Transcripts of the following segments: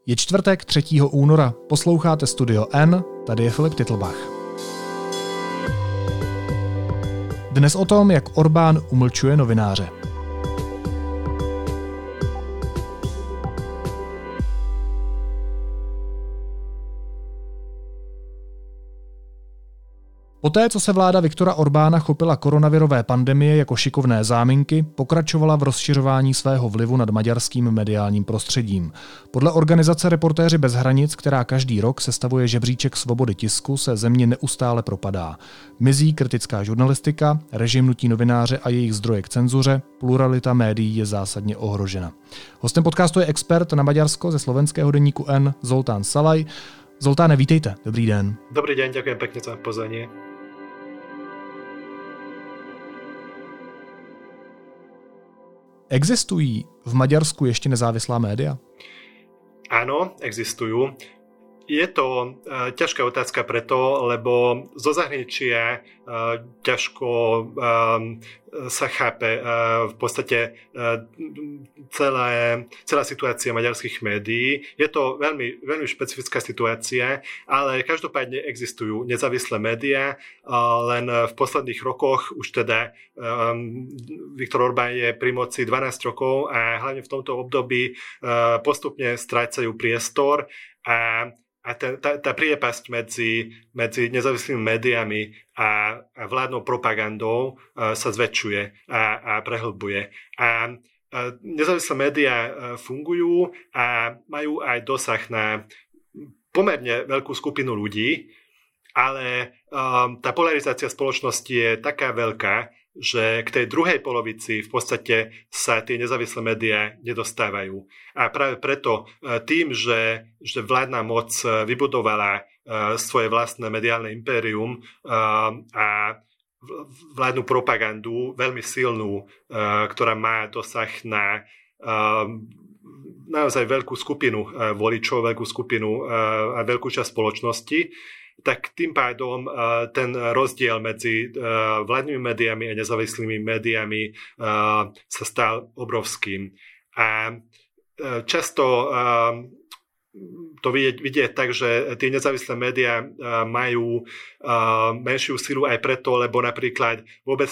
Je čtvrtek 3. února, posloucháte Studio N, tady je Filip Titlbach. Dnes o tom, jak Orbán umlčuje novináře. Poté, co se vláda Viktora Orbána chopila koronavirové pandemie jako šikovné záminky, pokračovala v rozšiřování svého vlivu nad maďarským mediálním prostředím. Podle organizace Reportéři bez hranic, která každý rok sestavuje žebříček svobody tisku, se země neustále propadá. Mizí kritická žurnalistika, režim nutí novináře a jejich zdroje k cenzuře, pluralita médií je zásadně ohrožena. Hostem podcastu je expert na Maďarsko ze slovenského deníku N Zoltán Salaj. Zoltáne, vítejte. Dobrý den. Dobrý deň, ďakujem pekne za pozvanie. Existují v Maďarsku ještě nezávislá média? Áno, existujú. Je to ťažká otázka preto, lebo zo zahraničia ťažko sa chápe v podstate celá situácia maďarských médií. Je to veľmi, veľmi špecifická situácia, ale každopádne existujú nezávislé médiá, len v posledných rokoch už teda Viktor Orbán je pri moci 12 rokov a hlavne v tomto období postupne strácajú priestor a tá priepasť medzi nezávislými médiami a vládnou propagandou sa zväčšuje a prehlbuje. A nezávislé médiá fungujú a majú aj dosah na pomerne veľkú skupinu ľudí, ale tá polarizácia spoločnosti je taká veľká, že k tej druhej polovici v podstate sa tie nezávislé médiá nedostávajú. A práve preto tým, že vládna moc vybudovala svoje vlastné mediálne impérium a vládnu propagandu veľmi silnú, ktorá má dosah na naozaj veľkú skupinu voličov, veľkú skupinu a veľkú časť spoločnosti, tak tým pádom ten rozdiel medzi vládnymi médiami a nezávislými médiami sa stal obrovským. A často to vidieť tak, že tie nezávislé médiá majú menšiu silu aj preto, lebo napríklad vôbec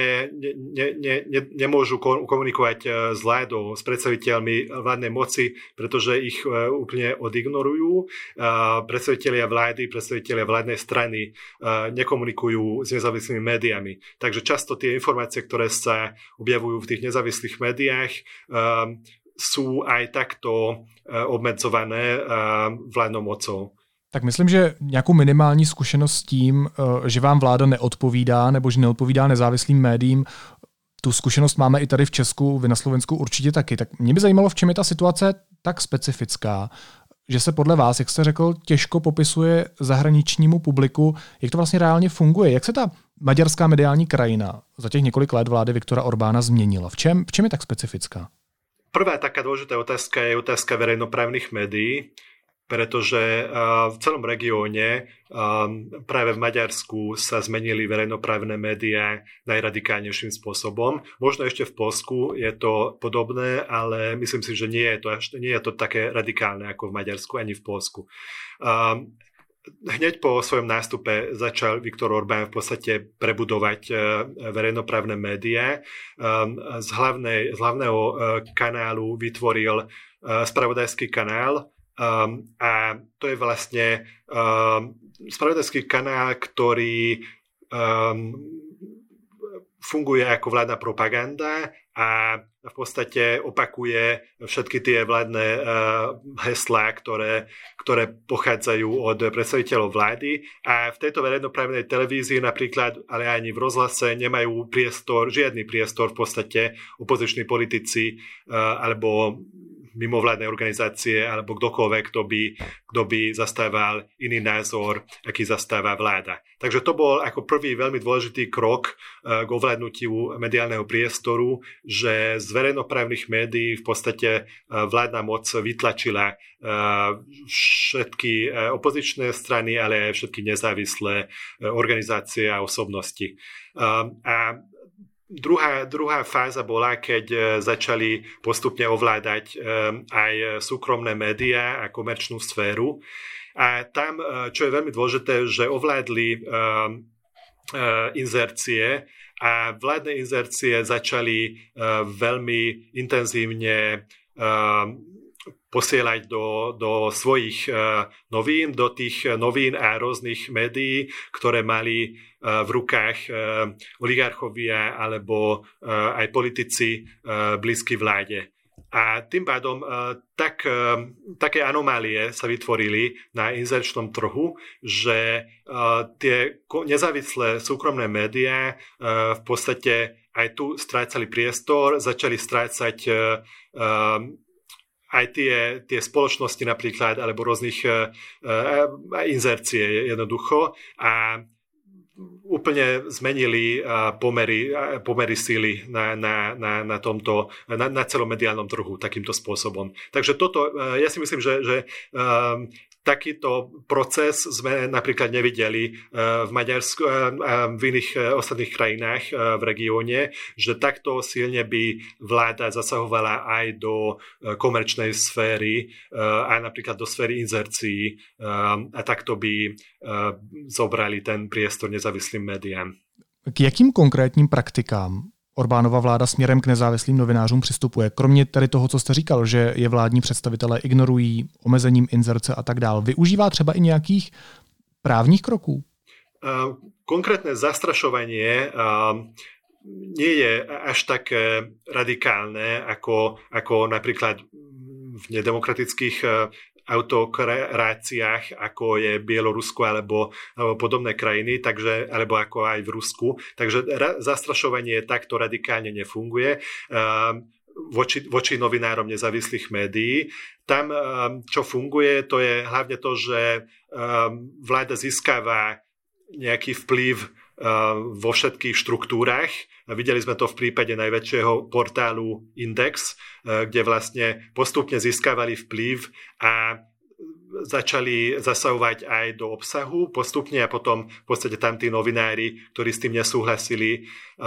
nemôžu komunikovať s vládou, s predstaviteľmi vládnej moci, pretože ich úplne odignorujú. Predstavitelia vlády, predstavitelia vládnej strany nekomunikujú s nezávislými médiami. Takže často tie informácie, ktoré sa objavujú v tých nezávislých médiách, sú aj takto obmedzované vládnou mocou. Tak myslím, že nějakou minimální zkušenost s tím, že vám vláda neodpovídá nebo že neodpovídá nezávislým médiím, tu zkušenost máme i tady v Česku, vy na Slovensku určitě taky. Tak mě by zajímalo, v čem je ta situace tak specifická, že se podle vás, jak jste řekl, těžko popisuje zahraničnímu publiku, jak to vlastně reálně funguje. Jak se ta maďarská mediální krajina za těch několik let vlády Viktora Orbána změnila? V čem je tak specifická? Prvá taká dôležitá otázka je otázka verejnoprávnych médií, pretože v celom regióne, práve v Maďarsku, sa zmenili verejnoprávne médiá najradikálnejším spôsobom. Možno ešte v Poľsku je to podobné, ale myslím si, že nie je to také radikálne ako v Maďarsku ani v Poľsku. Hneď po svojom nástupe začal Viktor Orbán v podstate prebudovať verejnoprávne médiá. Z hlavného kanálu vytvoril spravodajský kanál a to je vlastne spravodajský kanál, ktorý funguje ako vládna propaganda a v podstate opakuje všetky tie vládne heslá, ktoré pochádzajú od predstaviteľov vlády. A v tejto verejnoprávnej televízii napríklad, ale ani v rozhlase nemajú žiadny priestor v podstate opoziční politici alebo mimovládne organizácie alebo kdokoľvek, kto by zastával iný názor, aký zastáva vláda. Takže to bol ako prvý veľmi dôležitý krok k ovládnutiu mediálneho priestoru, že z verejnoprávnych médií v podstate vládna moc vytlačila všetky opozičné strany, ale aj všetky nezávislé organizácie a osobnosti. A Druhá fáza bola, keď začali postupne ovládať aj súkromné médiá a komerčnú sféru. A tam, čo je veľmi dôležité, že ovládli inzercie a vládne inzercie začali veľmi intenzívne posielať do svojich novín, do tých novín a rôznych médií, ktoré mali v rukách oligarchovia alebo aj politici blízky vláde. A tým pádom také anomálie sa vytvorili na inzerčnom trhu, že tie nezávislé súkromné médiá v podstate aj tu strácali priestor, začali strácať aj tie spoločnosti napríklad, alebo rôznych inzercie jednoducho a úplne zmenili pomery síly na celom mediálnom trhu takýmto spôsobom. Takže toto, ja si myslím, že takýto proces sme napríklad nevideli v Maďarsku a v iných ostatných krajinách v regióne, že takto silne by vláda zasahovala aj do komerčnej sféry a napríklad do sféry inzercií a takto by zobrali ten priestor nezávislým médiám. K jakým konkrétním praktikám Orbánova vláda směrem k nezávislým novinářům přistupuje? Kromě tady toho, co jste říkal, že je vládní představitelé ignorují omezením inzerce a tak dál. Využívá třeba i nějakých právních kroků? Konkrétne zastrašovanie nie je až tak radikálne, ako napríklad v nedemokratických autokráciách, ako je Bielorusko alebo podobné krajiny, alebo ako aj v Rusku. Takže zastrašovanie takto radikálne nefunguje voči novinárom nezávislých médií. Tam, čo funguje, to je hlavne to, že vláda získava nejaký vplyv vo všetkých štruktúrach. Videli sme to v prípade najväčšieho portálu Index, kde vlastne postupne získavali vplyv a začali zasahovať aj do obsahu postupne a potom v podstate tam tí novinári, ktorí s tým nesúhlasili,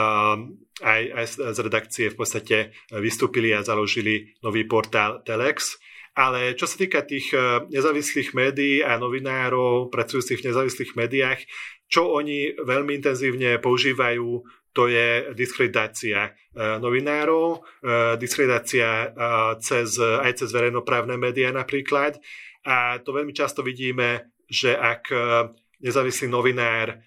aj z redakcie v podstate vystúpili a založili nový portál Telex. Ale čo sa týka tých nezávislých médií a novinárov pracujúcich v nezávislých médiách, čo oni veľmi intenzívne používajú, to je diskreditácia novinárov, diskreditácia aj cez verejnoprávne médiá napríklad. A to veľmi často vidíme, že ak nezávislý novinár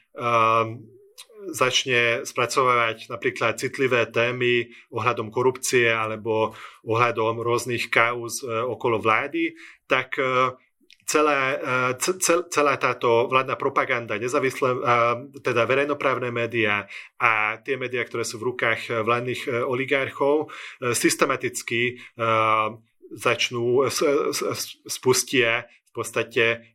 začne spracovávať napríklad citlivé témy ohľadom korupcie alebo ohľadom rôznych kauz okolo vlády, tak celá táto vládna propaganda, nezávislé, teda verejnoprávne médiá a tie médiá, ktoré sú v rukách vládnych oligarchov, systematicky spustia v podstate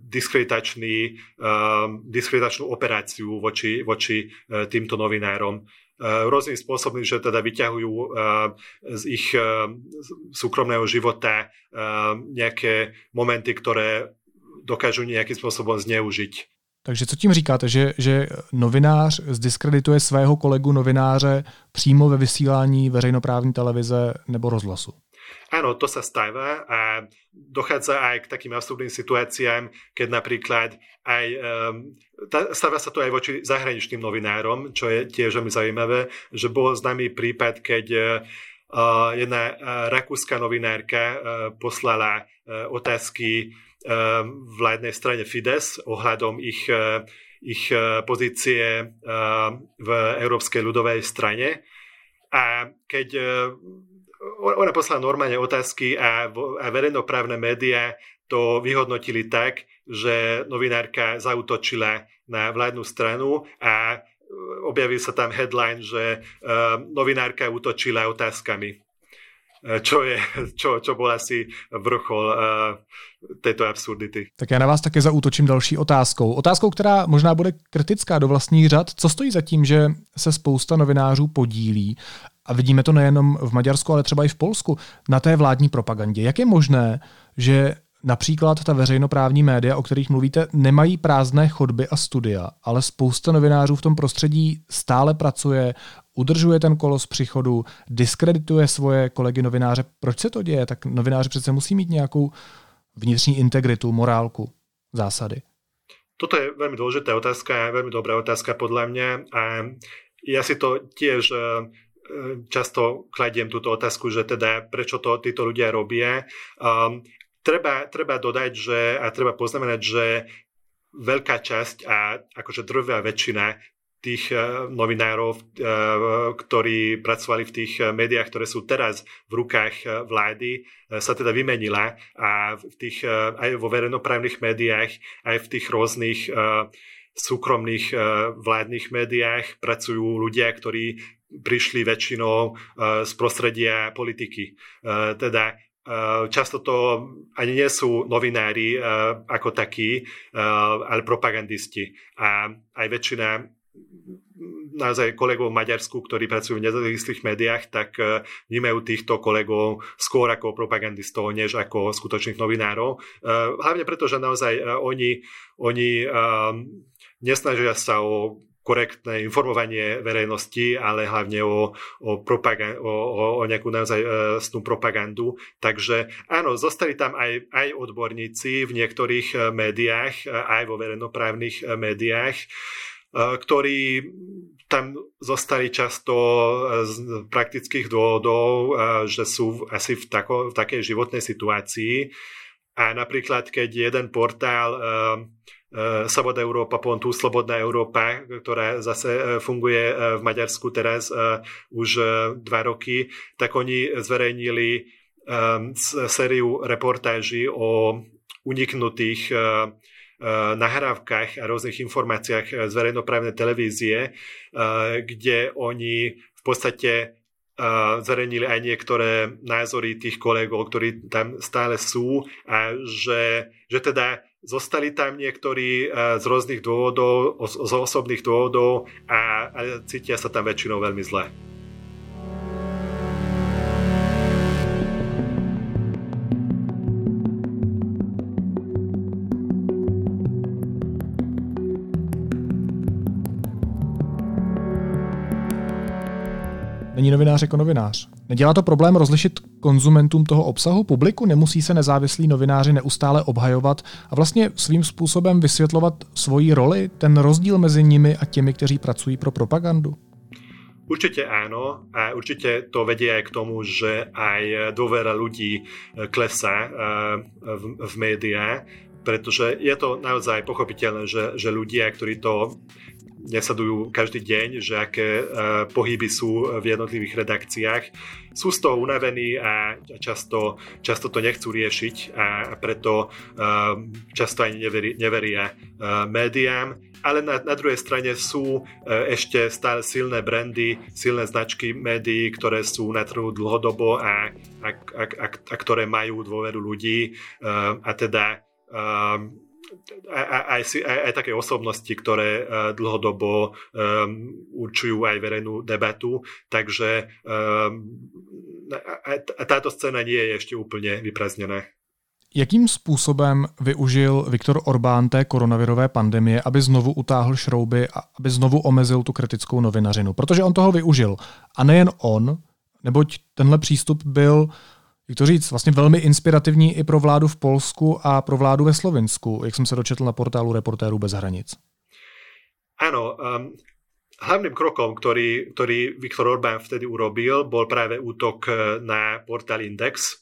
diskreditačnú operáciu voči týmto novinárom. Rôznym spôsobom, že teda vyťahujú z ich súkromného života nejaké momenty, ktoré dokážu nejakým spôsobom zneužiť. Takže co tím říkáte, že novinář zdiskredituje svého kolegu novináře přímo ve vysílání veřejnoprávní televize nebo rozhlasu? Áno, to sa stáva a dochádza aj k takým absurdným situáciám, keď napríklad aj stáva sa to aj voči zahraničným novinárom, čo je tiež veľmi zaujímavé, že bol známy prípad, keď jedna rakúska novinárka poslala otázky vládnej strane Fidesz ohľadom ich pozície v Európskej ľudovej strane. A keď ona poslala normálne otázky a verejnoprávne médiá to vyhodnotili tak, že novinárka zaútočila na vládnu stranu a objavil sa tam headline, že novinárka útočila otázkami. Čo bol asi vrchol této absurdity. Tak já na vás také zaútočím další otázkou. Otázkou, která možná bude kritická do vlastních řad. Co stojí za tím, že se spousta novinářů podílí, a vidíme to nejenom v Maďarsku, ale třeba i v Polsku, na té vládní propagandě? Jak je možné, že například ta veřejnoprávní média, o kterých mluvíte, nemají prázdné chodby a studia, ale spousta novinářů v tom prostředí stále pracuje, udržuje ten kolos při chodu, diskredituje svoje kolegy novináře. Proč se to děje? Tak novináři přece musí mít nějakou vnitřní integritu, morálku, zásady. Toto je veľmi dôležitá otázka, veľmi dobrá otázka podľa mňa a ja si to tiež často kladiem túto otázku, že teda prečo to títo ľudia robia. Treba dodať, a treba poznamenať, že veľká časť a akože drvivá väčšina tých novinárov, ktorí pracovali v tých médiách, ktoré sú teraz v rukách vlády, sa teda vymenila a aj vo verejnoprávnych médiách, aj v tých rôznych súkromných vládnych médiách pracujú ľudia, ktorí prišli väčšinou z prostredia politiky. Teda často to ani nie sú novinári ako takí, ale propagandisti. A aj väčšina naozaj kolegov v Maďarsku, ktorí pracujú v nezávislých médiách, tak vnímajú týchto kolegov skôr ako propagandistov, než ako skutočných novinárov. Hlavne preto, že naozaj oni nesnažia sa o korektné informovanie verejnosti, ale hlavne o nejakú naozaj snú propagandu. Takže áno, zostali tam aj odborníci v niektorých médiách, aj vo verejnoprávnych médiách, ktorí tam zostali často z praktických dôvodov, že sú asi v takej životnej situácii. A napríklad, keď jeden portál Sloboda Európa, tu Slobodná Európa, ktorá zase funguje v Maďarsku teraz už 2 roky, tak oni zverejnili sériu reportáží o uniknutých nahrávkach a rôznych informáciách z verejnoprávnej televízie, kde oni v podstate zverejnili aj niektoré názory tých kolegov, ktorí tam stále sú a že teda zostali tam niektorí z rôznych dôvodov, z osobných dôvodov a cítia sa tam väčšinou veľmi zle. Není novinář jako novinář. Nedělá to problém rozlišit konzumentům toho obsahu, publiku? Nemusí se nezávislí novináři neustále obhajovat a vlastně svým způsobem vysvětlovat svoji roli, ten rozdíl mezi nimi a těmi, kteří pracují pro propagandu? Určite áno a určite to vedie aj k tomu, že aj dôvera ľudí klesá v médiá, pretože je to naozaj pochopiteľné, že ľudia, ktorí to nesledujú každý deň, že aké pohyby sú v jednotlivých redakciách, sú z toho unavení a často to nechcú riešiť a preto často ani neveria médiám. Ale na druhej strane sú ešte stále silné brandy, silné značky médií, ktoré sú na trhu dlhodobo a ktoré majú dôveru ľudí a teda aj také osobnosti, ktoré dlhodobo určujú aj verejnú debatu. Takže táto scéna nie je ešte úplne vyprázdnená. Jakým způsobem využil Viktor Orbán té koronavirové pandemie, aby znovu utáhl šrouby a aby znovu omezil tu kritickou novinařinu? Protože on toho využil. A nejen on, neboť tenhle přístup byl, jak to říct, vlastně velmi inspirativní i pro vládu v Polsku a pro vládu ve Slovinsku, jak jsem se dočetl na portálu Reportérů bez hranic. Áno, hlavným krokom, ktorý Viktor Orbán vtedy urobil, bol práve útok na portál Index.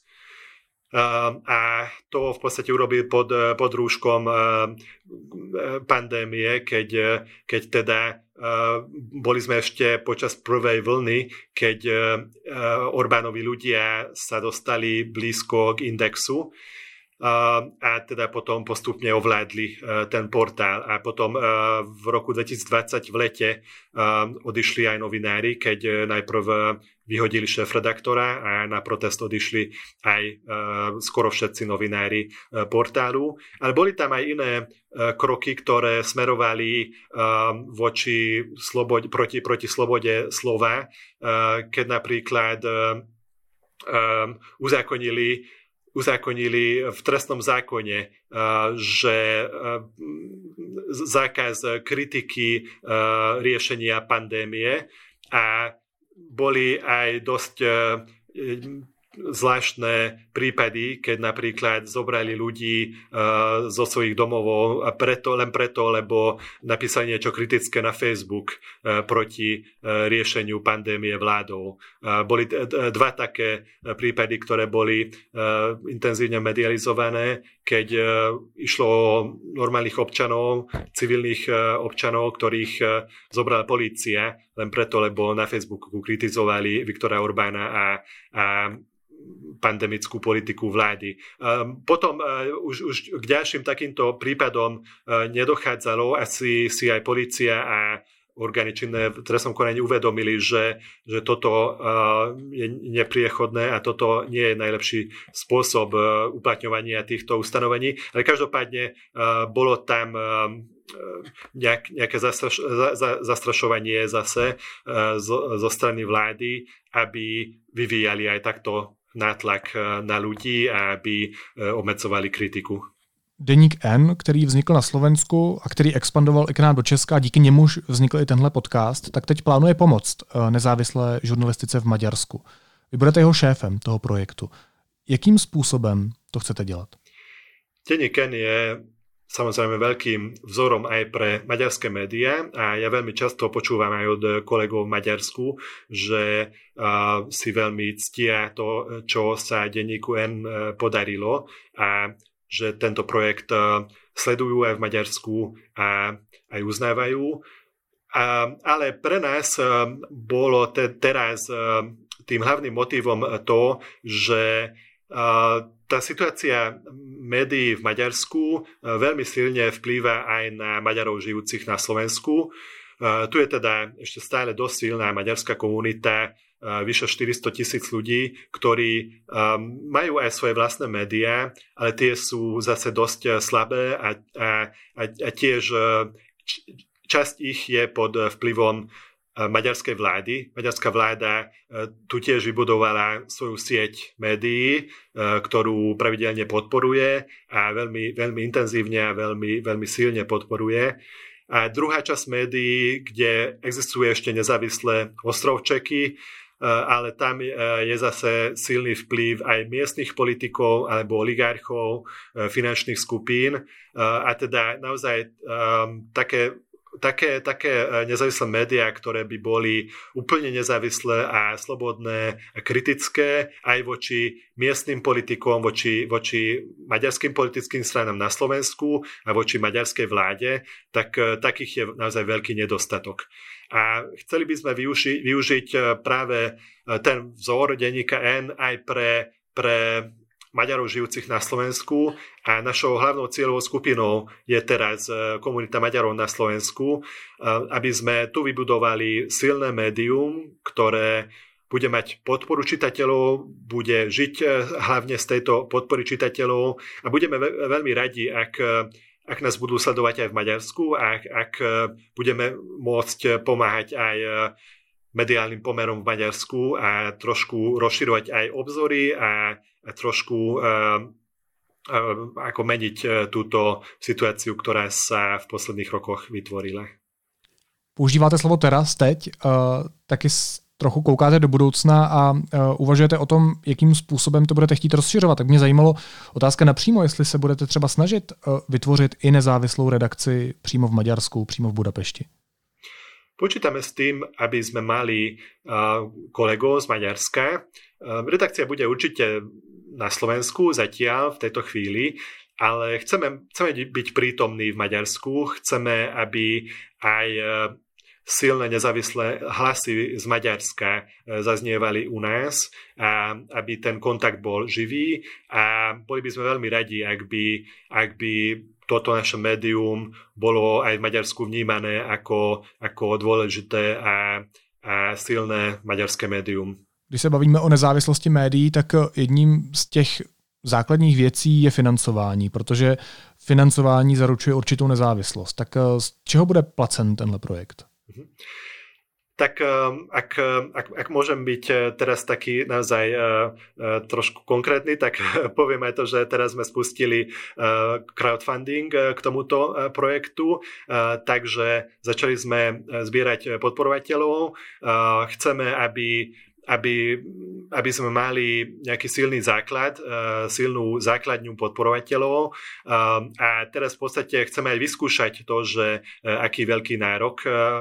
A to v podstate urobil pod rúškom pandémie, keď teda boli sme ešte počas prvej vlny, keď Orbánovi ľudia sa dostali blízko k Indexu a teda potom postupne ovládli ten portál a potom v roku 2020 v lete odišli aj novinári, keď najprv vyhodili šéfredaktora a na protest odišli aj skoro všetci novinári portálu. Ale boli tam aj iné kroky, ktoré smerovali proti slobode slova, keď napríklad uzákonili v trestnom zákone, že zákaz kritiky riešenia pandémie a boli aj dosť zvláštne prípady, keď napríklad zobrali ľudí zo svojich domovov len preto, lebo napísali niečo kritické na Facebook proti riešeniu pandémie vládou. Boli dva také prípady, ktoré boli intenzívne medializované, keď išlo o normálnych občanov, civilných občanov, ktorých zobrala polícia len preto, lebo na Facebooku kritizovali Viktora Orbána a pandemickú politiku vlády. Potom už k ďalším takýmto prípadom nedochádzalo. Asi si aj polícia a orgány činné v trestnom konaní uvedomili, že toto je nepriechodné a toto nie je najlepší spôsob uplatňovania týchto ustanovení. Ale každopádne bolo tam nejaké zastrašovanie zase zo strany vlády, aby vyvíjali aj takto nátlak na ľudí a aby obmedzovali kritiku. Deník N, který vznikl na Slovensku a který expandoval i k nám do Česka a díky němuž vznikl i tenhle podcast, tak teď plánuje pomoct nezávislé žurnalistice v Maďarsku. Vy budete jeho šéfem toho projektu. Jakým způsobem to chcete dělat? Deník N je samozrejme veľkým vzorom aj pre maďarské médiá a ja veľmi často počúvam aj od kolegov v Maďarsku, že si veľmi ctia to, čo sa denníku N podarilo a že tento projekt sledujú aj v Maďarsku a aj uznávajú. Ale pre nás bolo teraz tým hlavným motivom to, že tá situácia médií v Maďarsku veľmi silne vplýva aj na Maďarov žijúcich na Slovensku. Tu je teda ešte stále dosť silná maďarská komunita, vyše 400,000 ľudí, ktorí majú aj svoje vlastné médiá, ale tie sú zase dosť slabé a tiež časť ich je pod vplyvom maďarskej vlády. Maďarská vláda tu tiež vybudovala svoju sieť médií, ktorú pravidelne podporuje a veľmi, veľmi intenzívne a veľmi, veľmi silne podporuje. A druhá časť médií, kde existuje ešte nezávislé ostrovčeky, ale tam je zase silný vplyv aj miestnych politikov alebo oligarchov, finančných skupín a teda naozaj také nezávislé médiá, ktoré by boli úplne nezávislé a slobodné a kritické aj voči miestnym politikom, voči maďarským politickým stranám na Slovensku a voči maďarskej vláde, tak takých je naozaj veľký nedostatok. A chceli by sme využiť práve ten vzor denníka N aj pre Maďarov žijúcich na Slovensku a našou hlavnou cieľovou skupinou je teraz komunita Maďarov na Slovensku, aby sme tu vybudovali silné médium, ktoré bude mať podporu čitateľov, bude žiť hlavne z tejto podpory čitateľov a budeme veľmi radi, ak nás budú sledovať aj v Maďarsku a ak budeme môcť pomáhať aj mediálnym pomerom v Maďarsku a trošku rozširovať aj obzory a trošku ako meniť túto situáciu, ktorá sa v posledných rokoch vytvorila. Používáte slovo teraz, teď, taky trochu koukáte do budoucna a uvažujete o tom, jakým způsobem to budete chtít rozšiřovat. Tak mě zajímalo otázka napřímo, jestli se budete třeba snažit vytvořit i nezávislou redakci přímo v Maďarsku, přímo v Budapešti. Počítame s tým, aby sme mali kolegov z Maďarska. Redakcia bude určite na Slovensku zatiaľ v tejto chvíli, ale chceme byť prítomní v Maďarsku, chceme, aby aj silné nezávislé hlasy z Maďarska zaznievali u nás a aby ten kontakt bol živý a boli by sme veľmi radi, ak by toto naše médium bolo aj v Maďarsku vnímané ako dôležité a silné maďarské médium. Když se bavíme o nezávislosti médií, tak jedním z těch základních věcí je financování, protože financování zaručuje určitou nezávislost. Tak z čeho bude placen tenhle projekt? Tak ak môžem byť teraz taký naozaj trošku konkrétny, tak poviem aj to, že teraz sme spustili crowdfunding k tomuto projektu, takže začali sme zbierať podporovateľov. Chceme, aby sme mali nejaký silný základ, silnú základňu podporovateľov a teraz v podstate chceme aj vyskúšať to, že aký veľký nárok,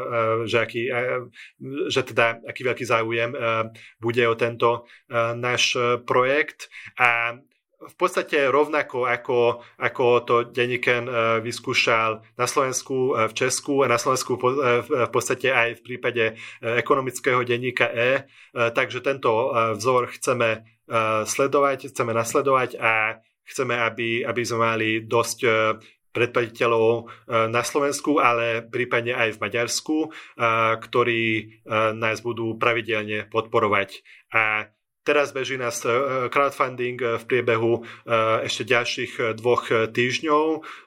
že teda aký veľký záujem bude o tento náš projekt a v podstate rovnako ako to denníken vyskúšal na Slovensku, v Česku a na Slovensku v podstate aj v prípade ekonomického denníka takže tento vzor chceme nasledovať a chceme, aby sme mali dosť predplatiteľov na Slovensku, ale prípadne aj v Maďarsku, ktorí nás budú pravidelne podporovať. A teraz beží nás crowdfunding v priebehu ešte ďalších 2 týždňov.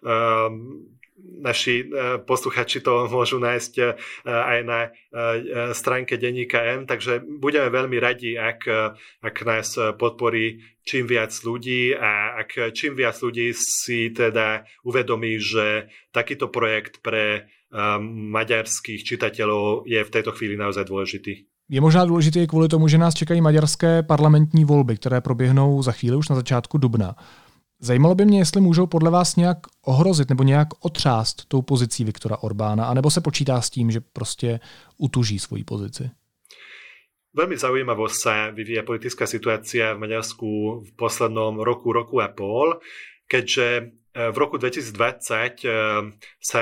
Naši posluchači to môžu nájsť aj na stránke denníka N, takže budeme veľmi radi, ak nás podporí čím viac ľudí a ak čím viac ľudí si teda uvedomí, že takýto projekt pre maďarských čitateľov je v tejto chvíli naozaj dôležitý. Je možná důležité kvůli tomu, že nás čekají maďarské parlamentní volby, které proběhnou za chvíli už na začátku dubna. Zajímalo by mě, jestli můžou podle vás nějak ohrozit nebo nějak otřást tou pozicí Viktora Orbána, anebo se počítá s tím, že prostě utuží svoji pozici? Veľmi zaujímavo sa vyvíja politická situácia v Maďarsku v poslednom roku a pol, keďže v roku 2020 sa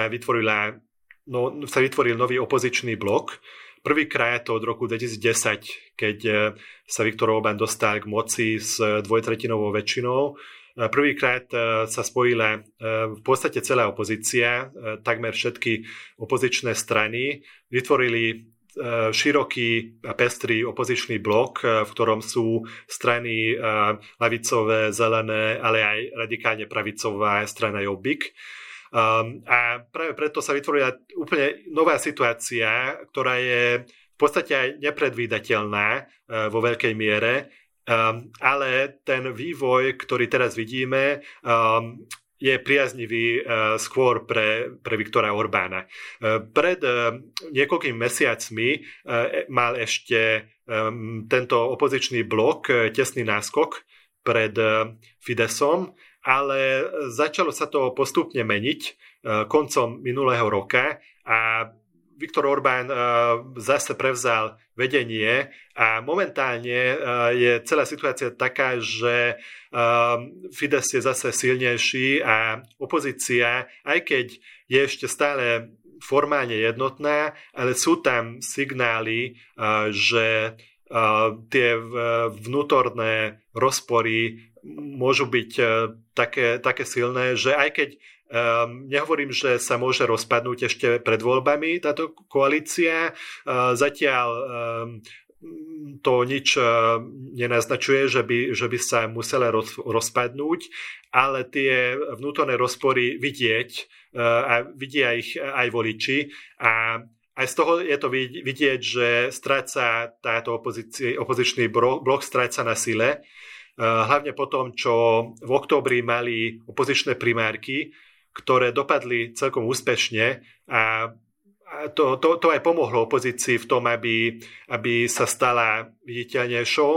vytvoril nový opozičný blok. Prvýkrát od roku 2010, keď sa Viktor Orbán dostal k moci s 2/3 väčšinou. Prvýkrát sa spojila v podstate celá opozícia, takmer všetky opozičné strany, vytvorili široký a pestrý opozičný blok, v ktorom sú strany ľavicové, zelené, ale aj radikálne pravicová strana Jobbik. A práve preto sa vytvorila úplne nová situácia, ktorá je v podstate aj nepredvídateľná vo veľkej miere, ale ten vývoj, ktorý teraz vidíme, je priaznivý skôr pre Viktora Orbána. Pred niekoľkými mesiacmi mal ešte tento opozičný blok tesný náskok pred Fidesom, ale začalo sa to postupne meniť koncom minulého roka a Viktor Orbán zase prevzal vedenie a momentálne je celá situácia taká, že Fides je zase silnejší a opozícia, aj keď je ešte stále formálne jednotná, ale sú tam signály, že tie vnútorné rozpory môžu byť také silné, že aj keď nehovorím, že sa môže rozpadnúť ešte pred voľbami táto koalícia, zatiaľ to nič nenaznačuje, že by sa musela rozpadnúť, ale tie vnútorné rozpory vidieť a vidia ich aj voliči a aj z toho je to vidieť, že stráca táto opozičný blok stráca na sile. Hlavne po tom, čo v októbri mali opozičné primárky, ktoré dopadli celkom úspešne a to aj pomohlo opozícii v tom, aby sa stala viditeľnejšou.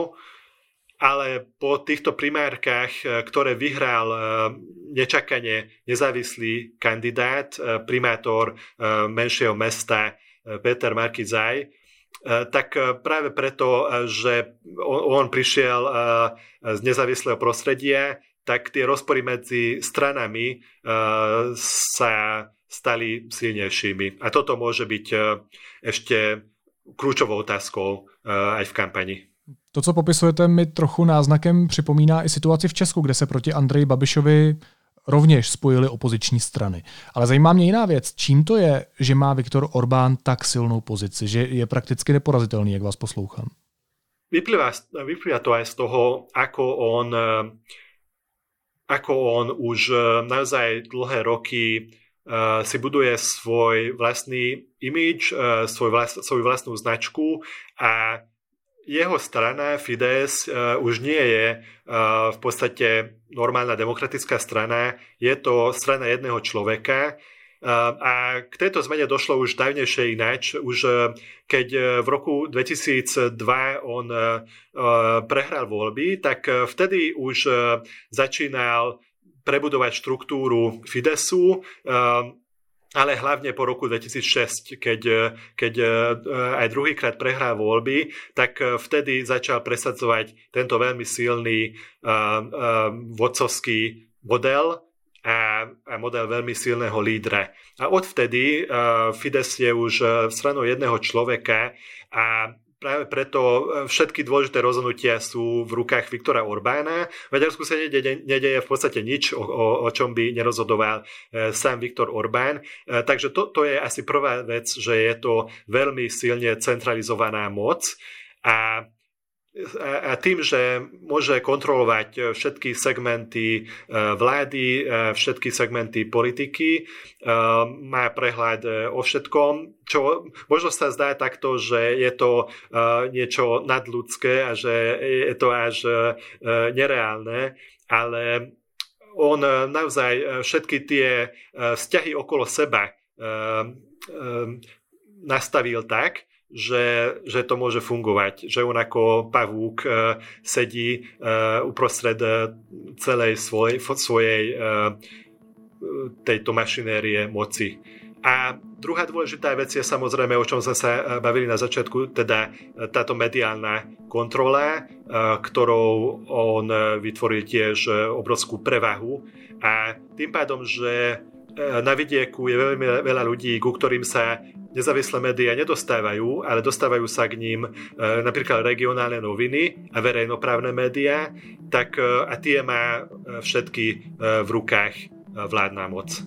Ale po týchto primárkach, ktoré vyhral nečakane nezávislý kandidát, primátor menšieho mesta Péter Markizaj, tak práve preto, že on prišiel z nezávislého prostredia, tak tie rozpory medzi stranami sa stali silnejšími. A toto môže byť ešte kľúčovou otázkou aj v kampani. To, co popisujete, mi trochu náznakem připomíná i situaci v Česku, kde se proti Andreji Babišovi rovněž spojily opoziční strany. Ale zajímá mě jiná věc. Čím to je, že má Viktor Orbán tak silnou pozici, že je prakticky neporazitelný, jak vás poslouchám? Vyplýva to aj z toho, ako on už naozaj dlhé roky si buduje svoj vlastný imidž, svoju vlastnú značku a jeho strana Fidesz už nie je v podstate normálna demokratická strana, je to strana jedného človeka. A k tejto zmene došlo už dávnejšie ináč. Už keď v roku 2002 on prehral voľby, tak vtedy už začínal prebudovať štruktúru Fideszu, ale hlavne po roku 2006, keď aj druhýkrát prehral voľby, tak vtedy začal presadzovať tento veľmi silný vodcovský model, a model veľmi silného lídra. A odvtedy Fidesz je už stranou jedného človeka a práve preto všetky dôležité rozhodnutia sú v rukách Viktora Orbána. V Maďarsku sa nedeje v podstate nič, o čom by nerozhodoval sám Viktor Orbán. Takže to je asi prvá vec, že je to veľmi silne centralizovaná moc a tým, že môže kontrolovať všetky segmenty vlády, všetky segmenty politiky, má prehľad o všetkom, čo možno sa zdá takto, že je to niečo nadľudské a že je to až nereálne, ale on naozaj všetky tie vzťahy okolo seba nastavil tak, že to môže fungovať, že on ako pavúk sedí uprostred celej svojej tejto mašinérie moci. A druhá dôležitá vec je samozrejme, o čom sme sa bavili na začiatku, teda táto mediálna kontrola, ktorou on vytvoril tiež obrovskú prevahu a tým pádom, že na vidieku je veľmi veľa ľudí, ku ktorým sa nezávislé médiá nedostávajú, ale dostávajú sa k ním napríklad regionálne noviny a verejnoprávne médiá, tak a tie má všetky v rukách vládna moc.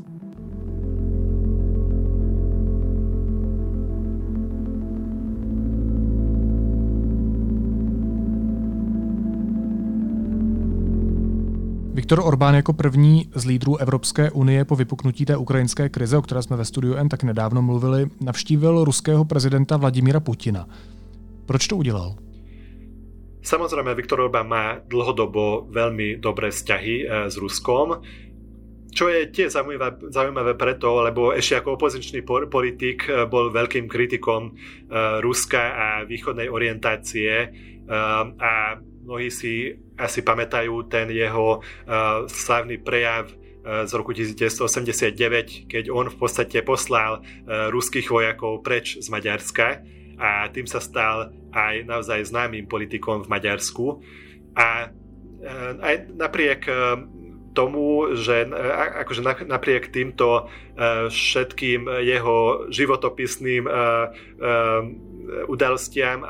Viktor Orbán jako první z lídrů Evropské unie po vypuknutí té ukrajinské krize, o které jsme ve Studiu N tak nedávno mluvili, navštívil ruského prezidenta Vladimíra Putina. Proč to udělal? Samozrejme, Viktor Orbán má dlhodobo veľmi dobré vzťahy s Ruskom, čo je tiež zaujímavé preto, lebo ešte ako opozičný politik bol veľkým kritikom Ruska a východnej orientácie a mnohí si asi pamätajú ten jeho slávny prejav z roku 1989, keď on v podstate poslal ruských vojakov preč z Maďarska a tým sa stal aj naozaj známym politikom v Maďarsku. A aj napriek tomu, že akože napriek týmto všetkým jeho životopisným udalostiam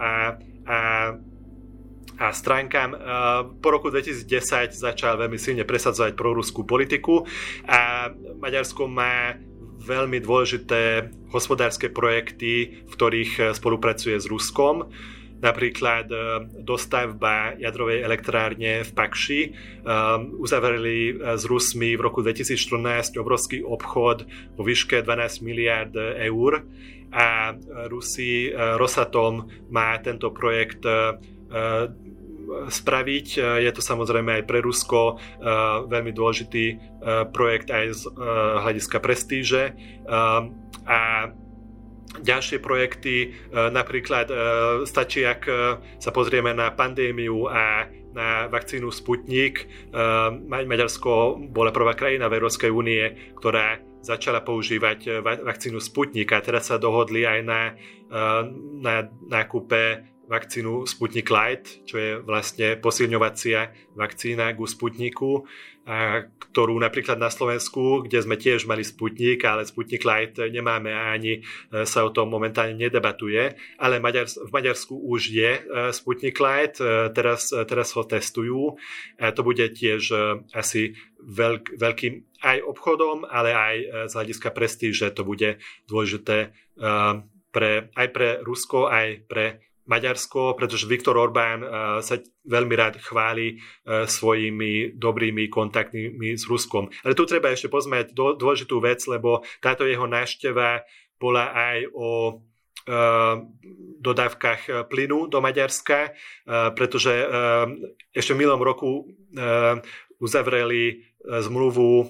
a stránkam. Po roku 2010 začal veľmi silne presadzovať proruskú politiku a Maďarsko má veľmi dôležité hospodárske projekty, v ktorých spolupracuje s Ruskom. Napríklad dostavba jadrovej elektrárne v Pakši. Uzavreli s Rusmi v roku 2014 obrovský obchod vo výške 12 miliárd eur a Rusi, Rosatom má tento projekt spraviť. Je to samozrejme aj pre Rusko veľmi dôležitý projekt aj z hľadiska prestíže. A ďalšie projekty, napríklad stačí, ak sa pozrieme na pandémiu a na vakcínu Sputnik. Maďarsko bola prvá krajina v Európskej únie, ktorá začala používať vakcínu Sputnik a teraz sa dohodli aj na nákupe vakcínu Sputnik Light, čo je vlastne posilňovacia vakcína ku Sputniku, ktorú napríklad na Slovensku, kde sme tiež mali Sputnik, ale Sputnik Light nemáme a ani sa o tom momentálne nedebatuje, ale v Maďarsku už je Sputnik Light, teraz ho testujú a to bude tiež asi veľkým aj obchodom, ale aj z hľadiska prestíže to bude dôležité aj pre Rusko, aj pre Maďarsko, pretože Viktor Orbán sa veľmi rád chváli svojimi dobrými kontaktmi s Ruskom. Ale tu treba ešte pozmieť dôležitú vec, lebo táto jeho návšteva bola aj o dodávkach plynu do Maďarska, pretože ešte v minulom roku uzavreli zmluvu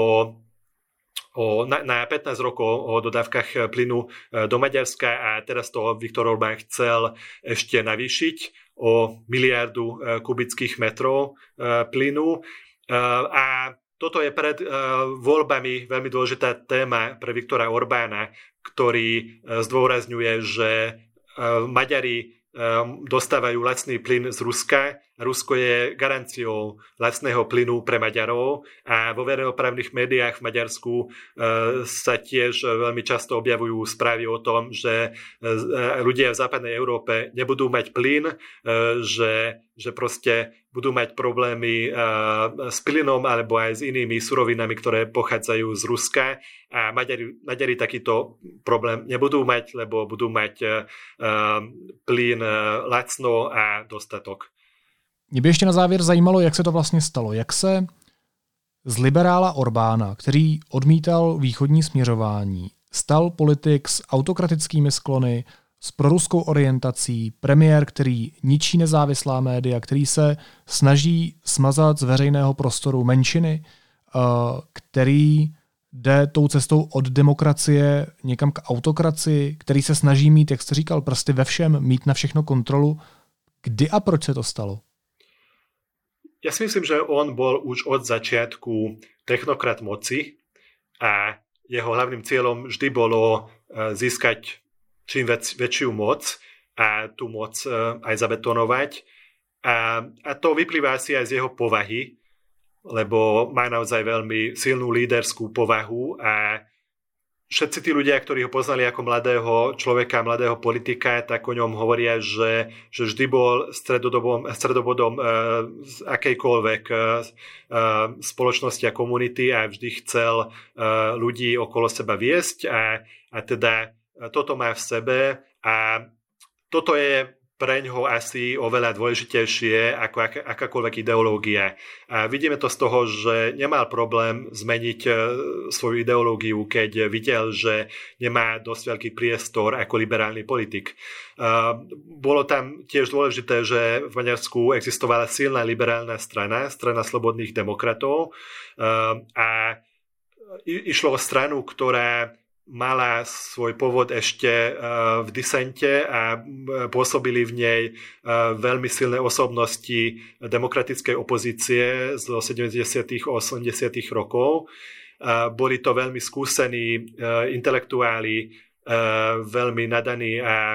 na 15 rokov o dodávkach plynu do Maďarska a teraz to Viktor Orbán chcel ešte navýšiť o 1 miliardu kubických metrov plynu. A toto je pred voľbami veľmi dôležitá téma pre Viktora Orbána, ktorý zdôrazňuje, že Maďari dostávajú lacný plyn z Ruska. Rusko je garanciou lacného plynu pre Maďarov a vo verejnoprávnych médiách v Maďarsku sa tiež veľmi často objavujú správy o tom, že ľudia v západnej Európe nebudú mať plyn, že proste budú mať problémy s plynom alebo aj s inými surovinami, ktoré pochádzajú z Ruska a Maďari takýto problém nebudú mať, lebo budú mať plyn lacno a dostatok. Mě by ještě na závěr zajímalo, jak se to vlastně stalo. Jak se z liberála Orbána, který odmítal východní směřování, stal politik s autokratickými sklony, s proruskou orientací, premiér, který ničí nezávislá média, který se snaží smazat z veřejného prostoru menšiny, který jde tou cestou od demokracie někam k autokracii, který se snaží mít, jak jste říkal, prsty ve všem, mít na všechno kontrolu. Kdy a proč se to stalo? Ja si myslím, že on bol už od začiatku technokrat moci a jeho hlavným cieľom vždy bolo získať čím väčšiu moc a tú moc aj zabetonovať. A to vyplýva asi aj z jeho povahy, lebo má naozaj veľmi silnú líderskú povahu a všetci tí ľudia, ktorí ho poznali ako mladého človeka, mladého politika, tak o ňom hovoria, že vždy bol stredobodom z akejkoľvek spoločnosti a komunity a vždy chcel ľudí okolo seba viesť a teda toto má v sebe a toto je preňho asi oveľa dôležitejšie ako akákoľvek ideológia. A vidíme to z toho, že nemal problém zmeniť svoju ideológiu, keď videl, že nemá dosť veľký priestor ako liberálny politik. Bolo tam tiež dôležité, že v Maďarsku existovala silná liberálna strana slobodných demokratov a išlo o stranu, ktorá mala svoj pôvod ešte v disente a pôsobili v nej veľmi silné osobnosti demokratickej opozície z 70. a 80. rokov. Boli to veľmi skúsení intelektuáli, veľmi nadaní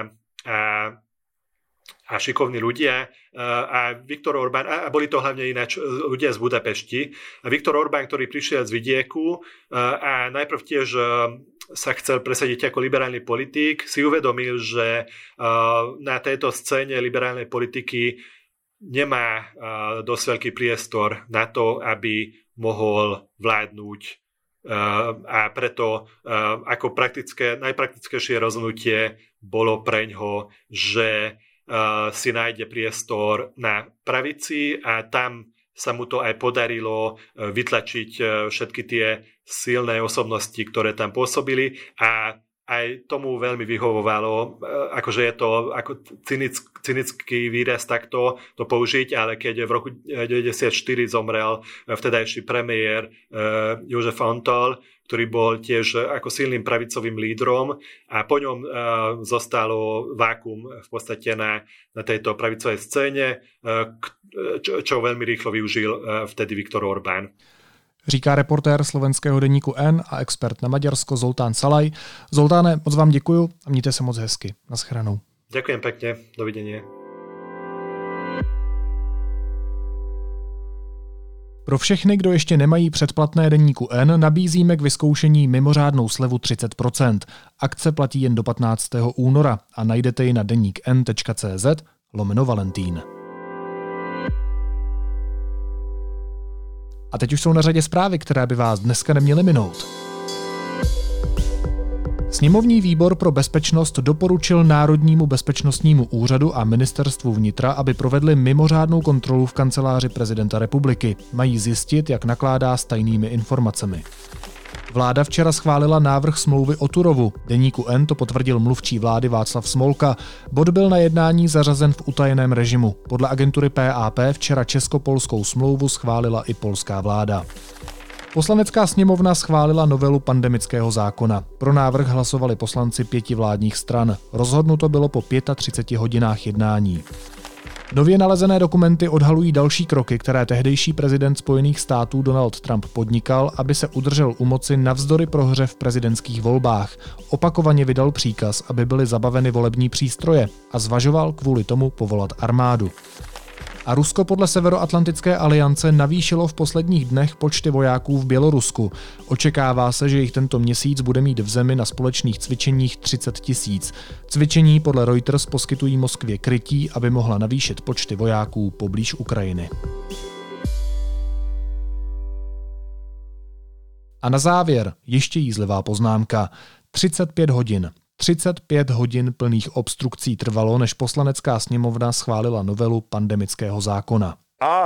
a šikovní ľudia a Viktor Orbán, a boli to hlavne ináč ľudia z Budapešti. A Viktor Orbán, ktorý prišiel z vidieku a najprv tiež sa chcel presadiť ako liberálny politik, si uvedomil, že na tejto scéne liberálnej politiky nemá dosť veľký priestor na to, aby mohol vládnuť a preto ako najpraktickejšie rozhodnutie bolo preňho, že si nájde priestor na pravici a tam sa mu to aj podarilo vytlačiť všetky tie silné osobnosti, ktoré tam pôsobili a aj tomu veľmi vyhovovalo, akože je to ako cynický výraz takto to použiť, ale keď v roku 1994 zomrel vtedajší premiér Jozef Antall, ktorý bol tiež ako silným pravicovým lídrom a po ňom zostalo vákum v podstate na tejto pravicovej scéne, čo veľmi rýchlo využil vtedy Viktor Orbán. Říká reportér slovenského deníku N a expert na Maďarsko Zoltán Salaj. Zoltáne, moc vám děkuju a mějte se moc hezky. Naschledanou. Ďakujem pekne, dovidenia. Pro všechny, kdo ještě nemají předplatné deníku N, nabízíme k vyzkoušení mimořádnou slevu 30%. Akce platí jen do 15. února a najdete ji na denikn.cz/Valentín. A teď už jsou na řadě zprávy, které by vás dneska neměly minout. Sněmovní výbor pro bezpečnost doporučil Národnímu bezpečnostnímu úřadu a ministerstvu vnitra, aby provedli mimořádnou kontrolu v kanceláři prezidenta republiky. Mají zjistit, jak nakládá s tajnými informacemi. Vláda včera schválila návrh smlouvy o Turovu. Deníku N to potvrdil mluvčí vlády Václav Smolka. Bod byl na jednání zařazen v utajeném režimu. Podle agentury PAP včera česko-polskou smlouvu schválila i polská vláda. Poslanecká sněmovna schválila novelu pandemického zákona. Pro návrh hlasovali poslanci 5 vládních stran. Rozhodnuto bylo po 35 hodinách jednání. Nově nalezené dokumenty odhalují další kroky, které tehdejší prezident Spojených států Donald Trump podnikal, aby se udržel u moci navzdory prohře v prezidentských volbách. Opakovaně vydal příkaz, aby byly zabaveny volební přístroje a zvažoval kvůli tomu povolat armádu. A Rusko podle Severoatlantické aliance navýšilo v posledních dnech počty vojáků v Bělorusku. Očekává se, že jich tento měsíc bude mít v zemi na společných cvičeních 30 000. Cvičení podle Reuters poskytují Moskvě krytí, aby mohla navýšit počty vojáků poblíž Ukrajiny. A na závěr ještě jízlivá poznámka. 35 hodin plných obstrukcí trvalo, než Poslanecká sněmovna schválila novelu pandemického zákona.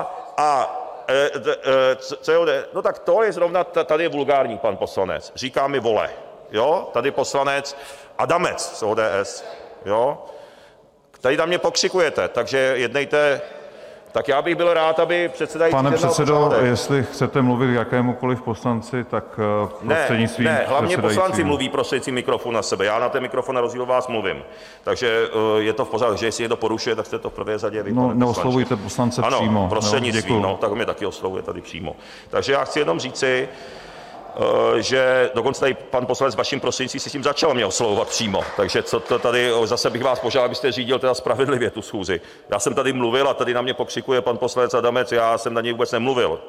No tak to je zrovna, tady je vulgární pan poslanec, říká mi vole, jo, tady poslanec Adamec z ODS, jo, tady na mě pokřikujete, takže jednejte. Tak já bych byl rád, aby předsedající... Pane předsedo, jestli chcete mluvit k jakémukoliv poslanci, tak prostřednictvím Ne, hlavně předsedajícího. poslanci mluví prostřednictvím mikrofonu na sebe. Já na ten mikrofon na rozdíl od vás mluvím. Takže je to v pořádku, že jestli někdo porušuje, tak jste to v prvé řadě vy. No, neoslovujte poslance přímo. Ano, prostřednictvím, no, tak mě taky oslovuje tady přímo. Takže já chci jenom říci, že dokonce tady pan poslanec vaším prostřednictvím si s tím začal mě oslovovat přímo. Takže co to tady, zase bych vás požádal, abyste řídil teda spravedlivě tu schůzi. Já jsem tady mluvil a tady na mě pokřikuje pan poslanec Adamec, já jsem na něj vůbec nemluvil.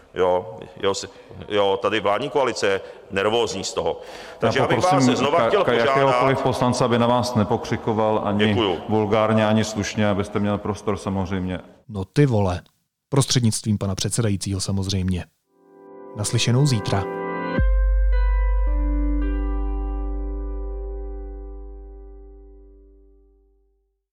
Jo, tady vládní koalice je nervózní z toho. Takže já bych vás znova chtěl požádat... jakéhokoliv poslance, aby na vás nepokřikoval ani vulgárně, ani slušně, abyste měl prostor samozřejmě. No ty vole. Prostřednictvím pana předsedajícího samozřejmě. Naslyšenou zítra.